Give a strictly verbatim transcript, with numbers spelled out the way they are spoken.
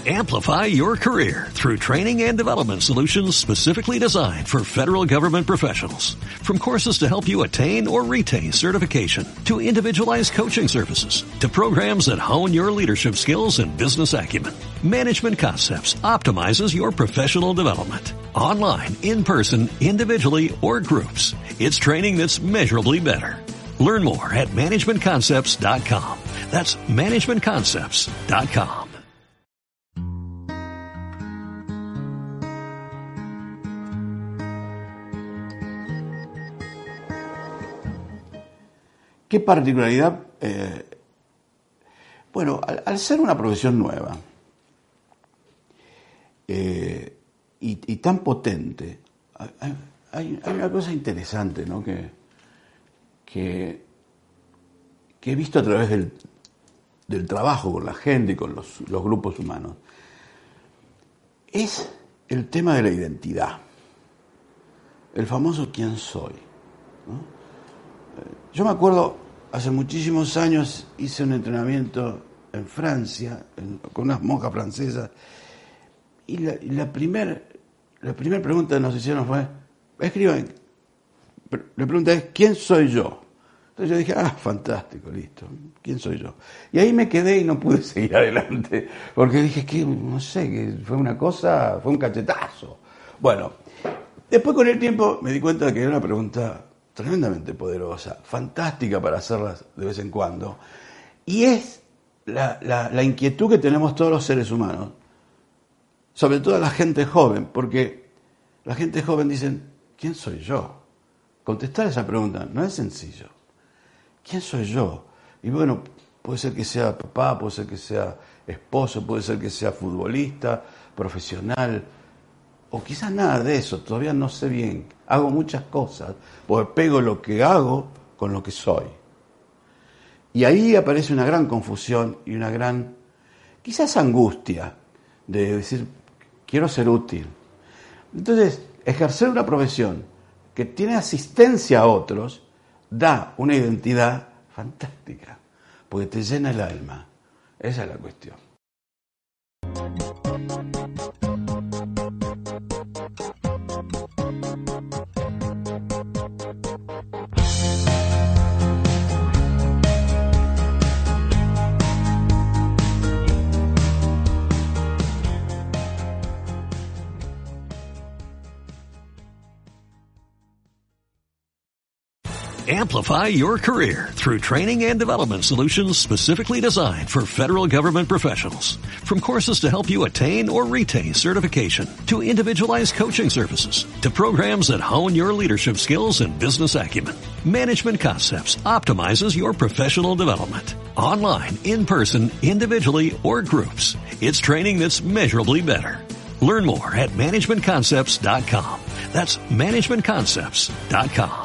Amplify your career through training and development solutions specifically designed for federal government professionals. From courses to help you attain or retain certification, to individualized coaching services, to programs that hone your leadership skills and business acumen, Management Concepts optimizes your professional development. Online, in person, individually, or groups, it's training that's measurably better. Learn more at management concepts dot com. That's management concepts dot com. ¿Qué particularidad? Eh, bueno, al, al ser una profesión nueva eh, y, y tan potente, hay, hay, hay una cosa interesante, ¿no? que, que, que he visto a través del, del trabajo con la gente y con los, los grupos humanos. Es el tema de la identidad, el famoso ¿quién soy? ¿No? Yo me acuerdo, hace muchísimos años hice un entrenamiento en Francia, en, con unas monjas francesas, y la, y la primera la primer pregunta que nos hicieron fue, escriban, la pregunta es, ¿quién soy yo? Entonces yo dije, ah, fantástico, listo, ¿quién soy yo? Y ahí me quedé y no pude seguir adelante, porque dije, que no sé, que fue una cosa, fue un cachetazo. Bueno, después con el tiempo me di cuenta de que era una pregunta tremendamente poderosa, fantástica para hacerlas de vez en cuando, y es la, la, la inquietud que tenemos todos los seres humanos, sobre todo la gente joven, porque la gente joven dicen, ¿quién soy yo? Contestar esa pregunta no es sencillo. ¿Quién soy yo? Y bueno, puede ser que sea papá, puede ser que sea esposo, puede ser que sea futbolista, profesional, o quizás nada de eso, todavía no sé bien. Hago muchas cosas, porque pego lo que hago con lo que soy. Y ahí aparece una gran confusión y una gran, quizás angustia, de decir, quiero ser útil. Entonces, ejercer una profesión que tiene asistencia a otros, da una identidad fantástica, porque te llena el alma. Esa es la cuestión. Amplify your career through training and development solutions specifically designed for federal government professionals. From courses to help you attain or retain certification, to individualized coaching services, to programs that hone your leadership skills and business acumen, Management Concepts optimizes your professional development. Online, in person, individually, or groups, it's training that's measurably better. Learn more at management concepts dot com. That's management concepts dot com.